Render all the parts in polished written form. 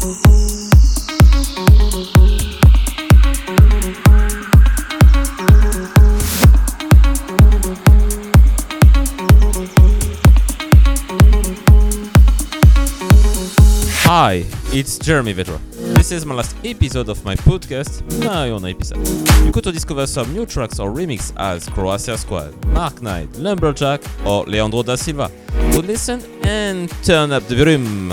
Hi, it's Jeremy Vedra. This is my last episode of my podcast, Najona episode. You could discover some new tracks or remix as Croatia Squad, Mark Knight, Lumberjack or Leandro da Silva. So listen and turn up the volume.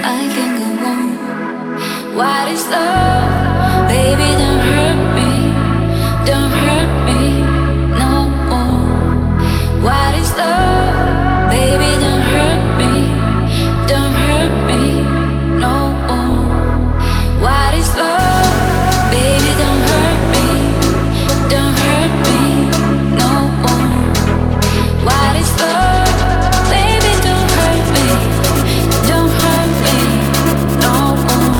I can go on. What is love? Baby, don't hurt me. Don't hurt me no more. What is love? Baby, don't hurt me. Don't hurt me no more. What is love? Baby, don't hurt me. Don't hurt me no more. What is love? Baby, don't hurt me. Don't hurt me no more.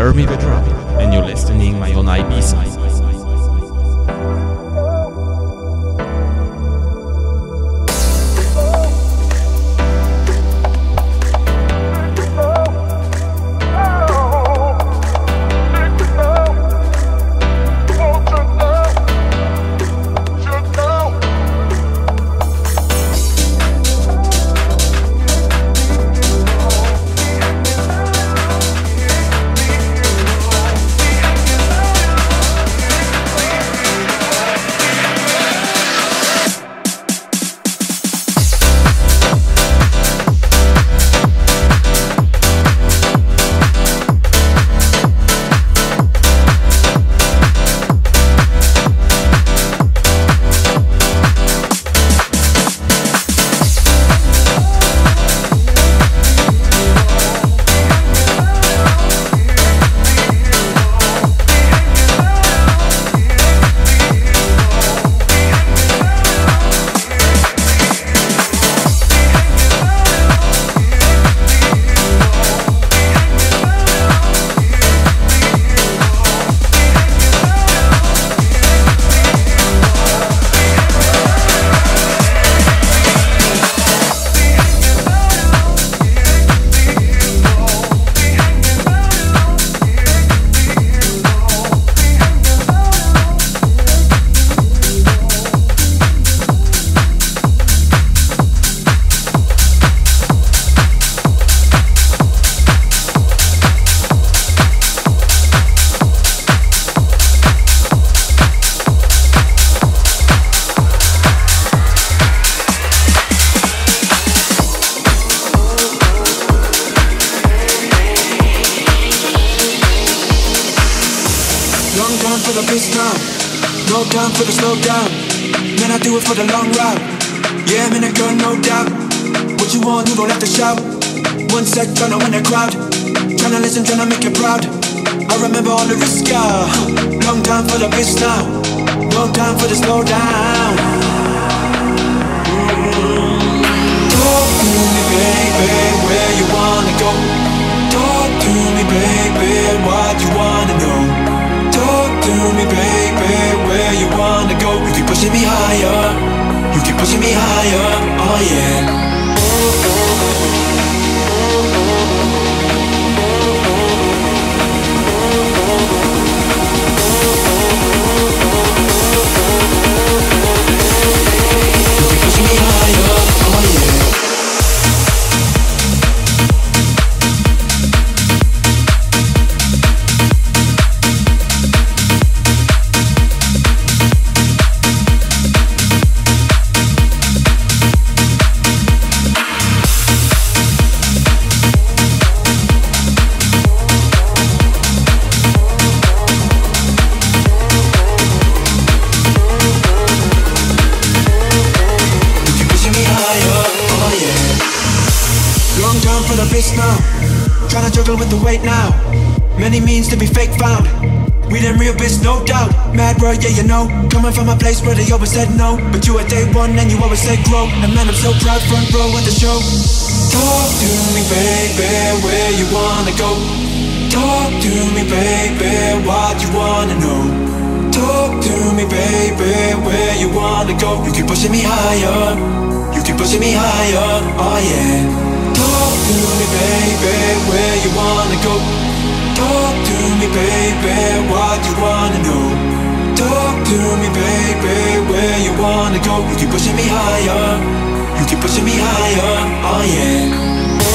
Jeremy Vedra, and you're listening my own Ibiza. Yeah, you know, coming from a place where they always said no, but you at day one and you always said grow. And man, I'm so proud, front row at the show. Talk to me, baby, where you wanna go? Talk to me, baby, what you wanna know? Talk to me, baby, where you wanna go? You keep pushing me higher, you keep pushing me higher, oh yeah. Talk to me, baby, where you wanna go? Talk to me, baby, what you wanna know? Talk to me, baby, where you wanna go? You keep pushing me higher, you keep pushing me higher, oh yeah.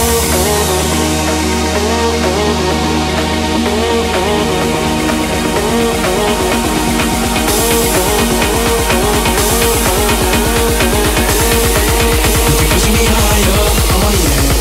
You keep pushing me higher, oh yeah.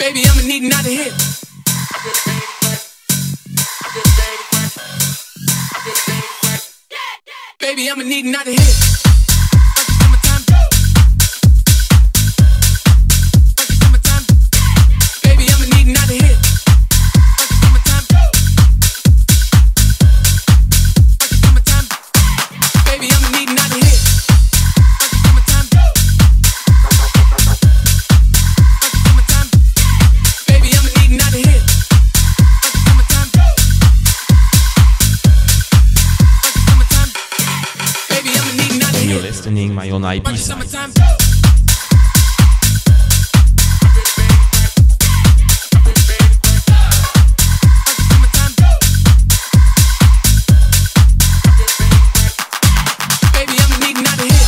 Baby, I'ma need another hit. Baby, I'ma need another hit. Baby, I'ma need another hit. Baby, I'ma need another hit. Baby, I'ma need another hit. Baby, I'ma need another hit. You're listening my own IP side. Summertime. Baby, I'ma need another hit.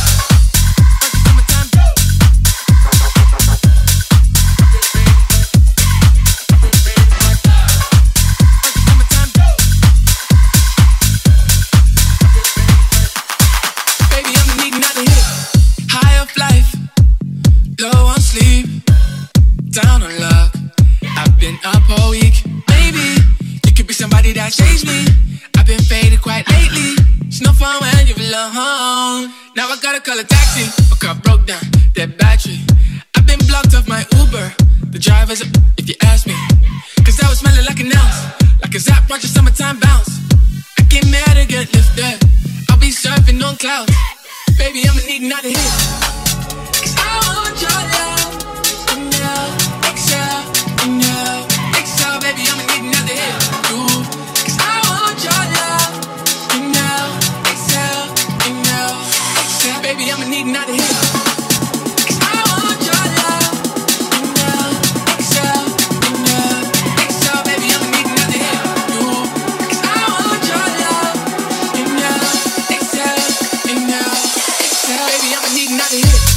Baby, I'ma need another hit. High up life, low on sleep, down on luck. I've been up all week. Maybe you could be somebody that saves me. I've been faded quite lately. It's no fun when you're alone. Now I gotta call a taxi. My car broke down, dead battery. I've been blocked off my Uber. The driver's up, if you ask me. Cause I was smelling like an ounce, like a Zap watch a summertime bounce. I get mad or get lifted. I'll be surfing on clouds. Baby, I'ma need another hit. Cause I want your love. Inhale, exhale, inhale, exhale. Baby, I'ma need another hit. Ooh. Cause I want your love. Inhale, exhale, inhale, exhale. Baby, I'ma need another hit. Cause I want your love. Inhale, exhale, inhale, exhale. Baby, I'ma need another hit. Ooh. Cause I want your love. Inhale, exhale, inhale, exhale. Baby, I'ma need another hit.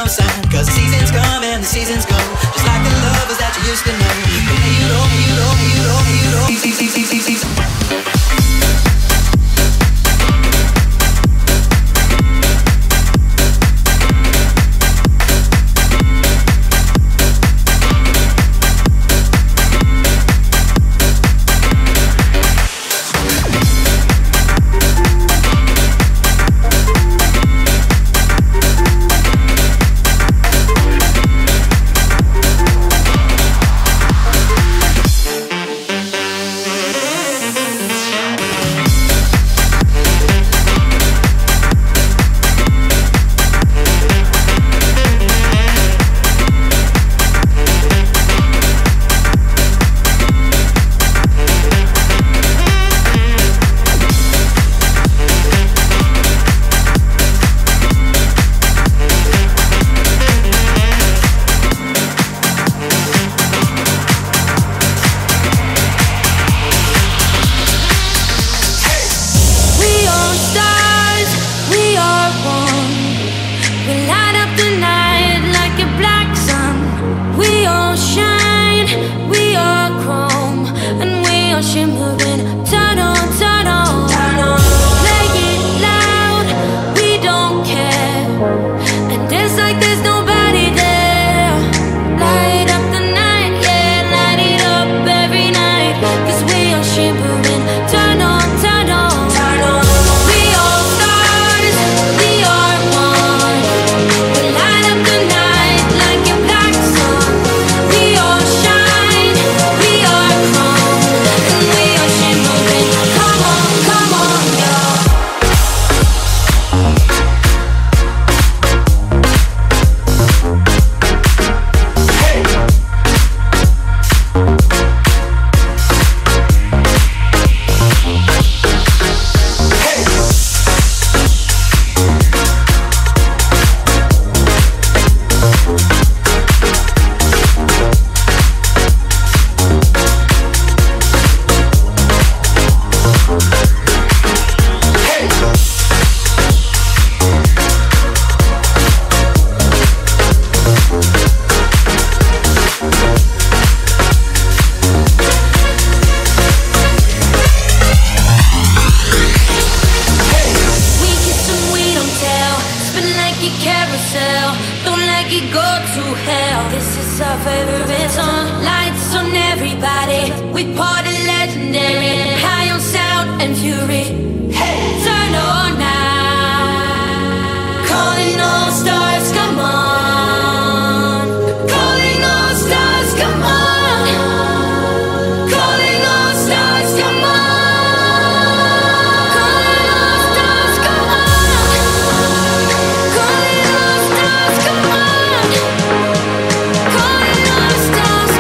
sign, cause the seasons come and the seasons go, just like the lovers that you used to know. But now you don't, you don't, you don't, you don't. Stars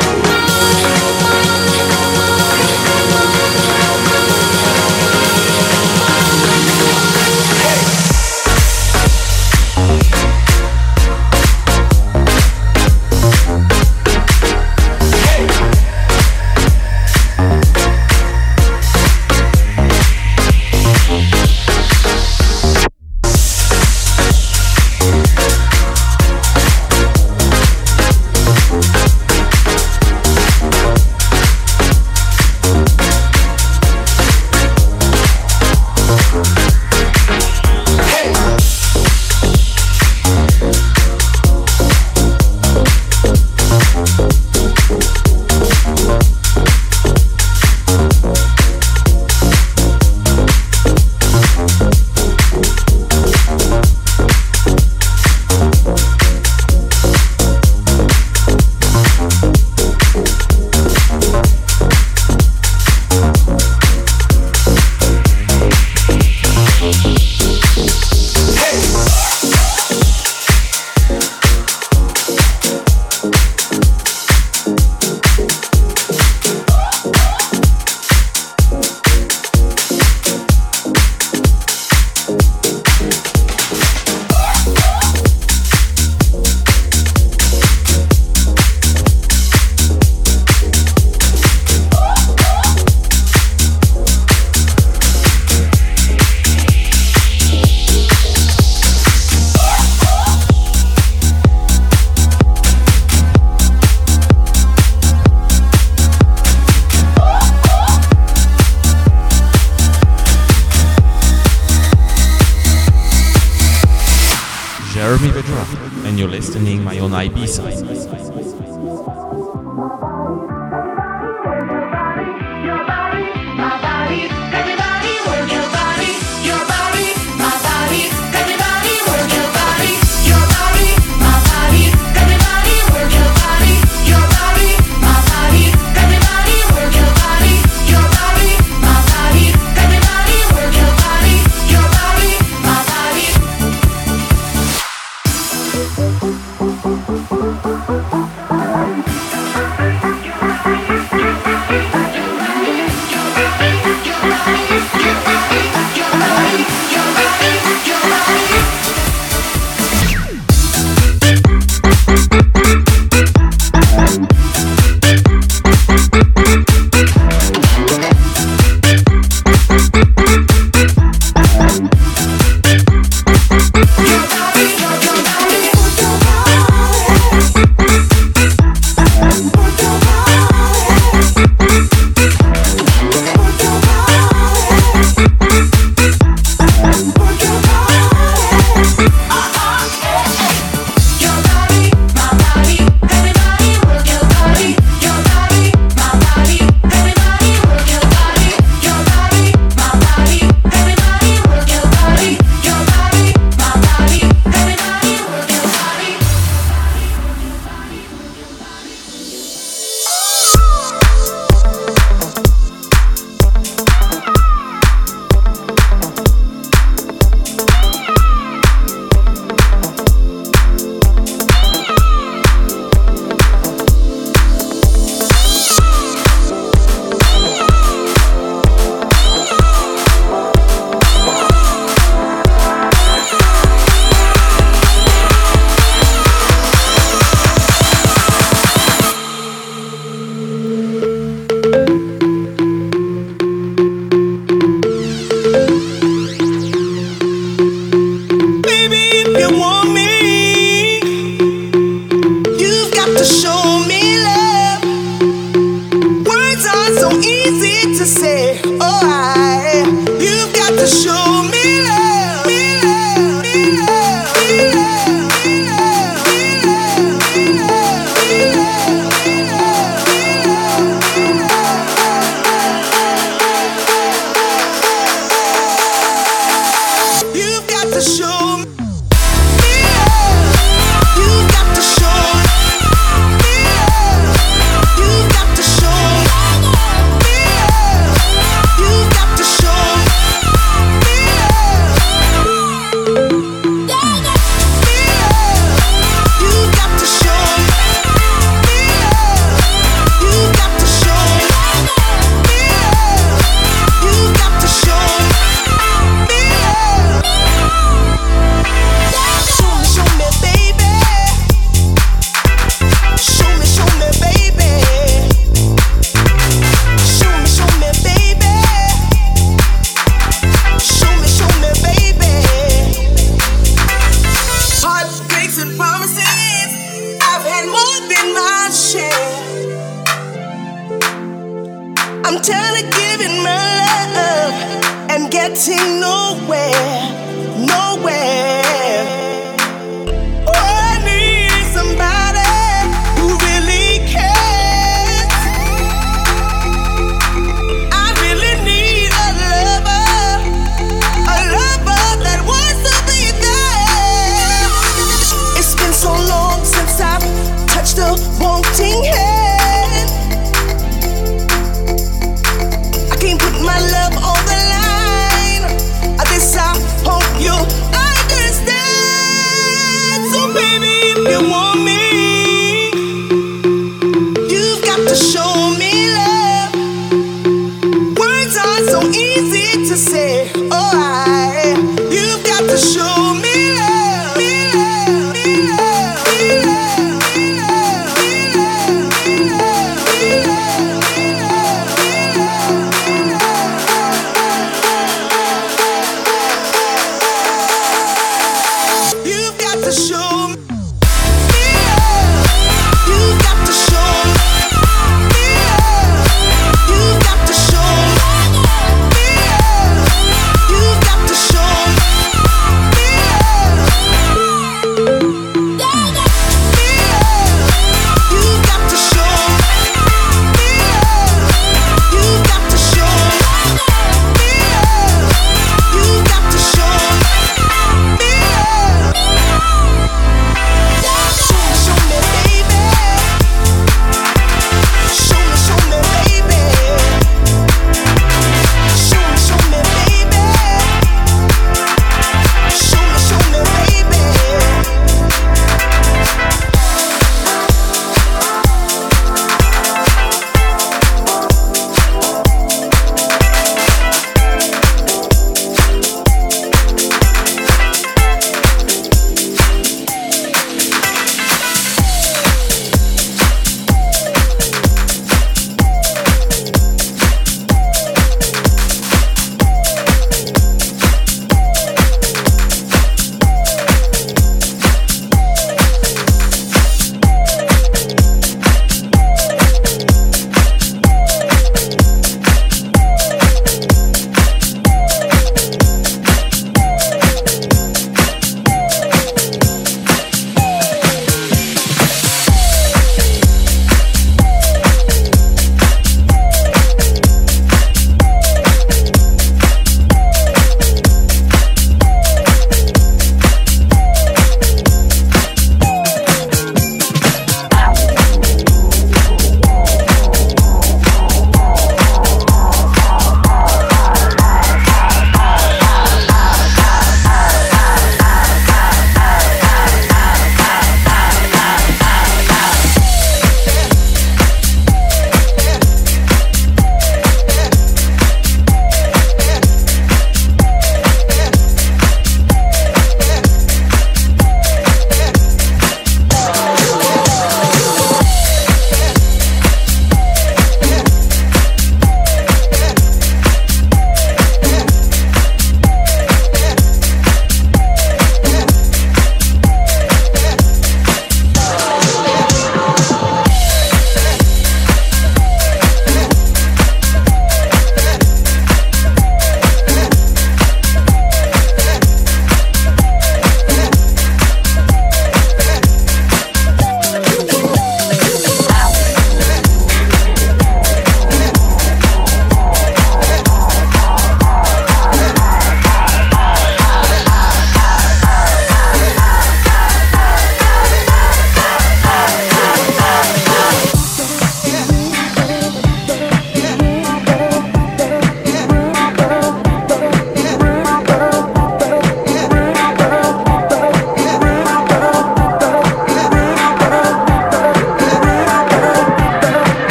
Jeremy Vedra, and you're listening my own Ibiza.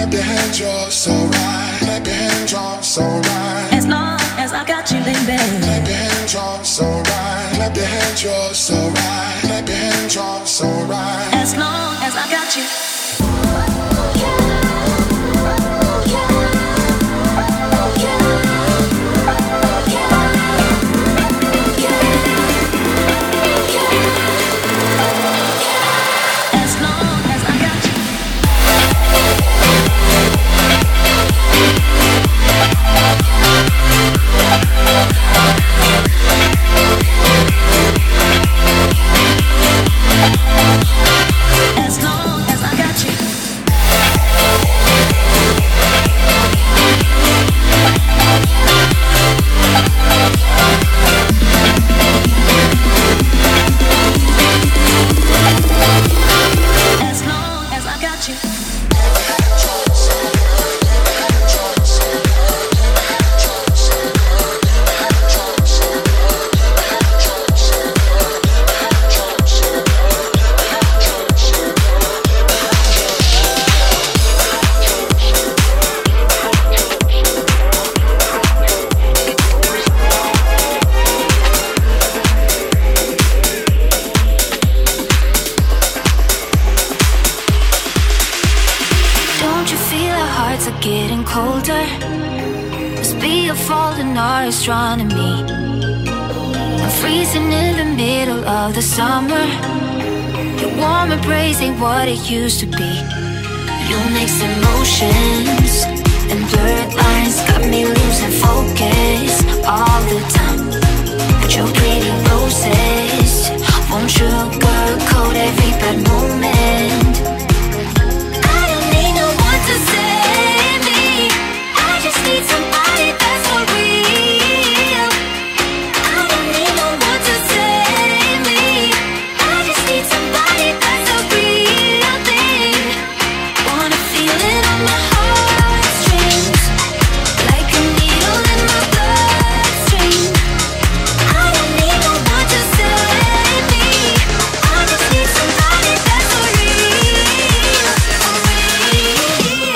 Clap your hands, you're so right. Clap your hands, you're so right. As long as I got you, baby. Clap your hands, you're so right. Clap your hands, you're so right. Clap your hands, you're so right. As long as I got you. Getting colder, must be a fault in our astronomy. I'm freezing in the middle of the summer. Your warm embrace ain't what it used to be. You mix emotions and blurred lines, got me losing focus all the time. But your pretty roses won't sugarcoat every bad moment. I don't need no one to say. Need somebody that's for real. I don't need no one to save me. I just need somebody that's a real thing. Wanna feel it on my heartstrings, like a needle in my bloodstream. I don't need no one to save me. I just need somebody that's for real, for real.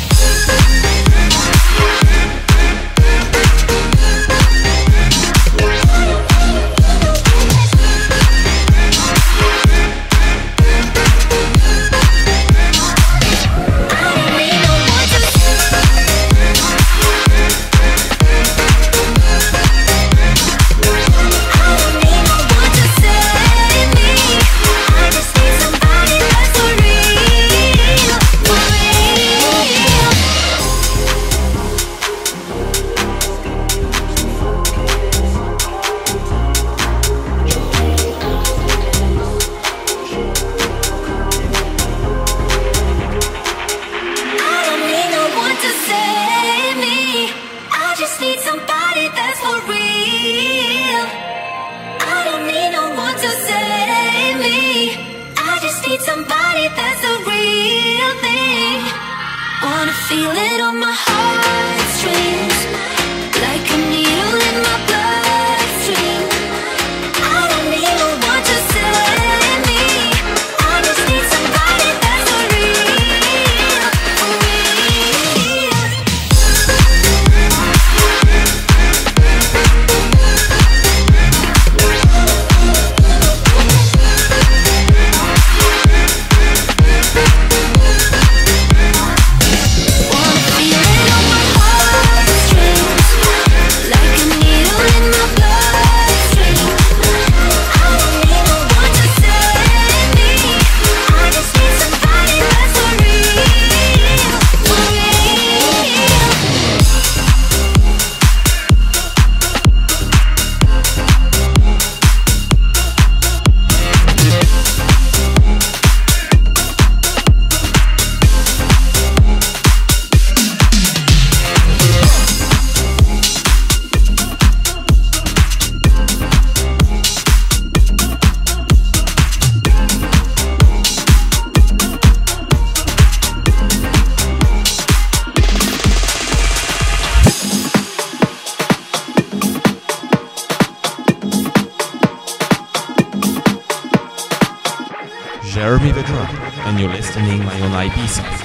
Somebody that's a real thing. Wanna feel it on my heartstrings, like a needle in my bloodstream. I don't need no one to save me. I just need somebody that's for real, for real. Jeremy Vedra, and you're listening my own Ibiza.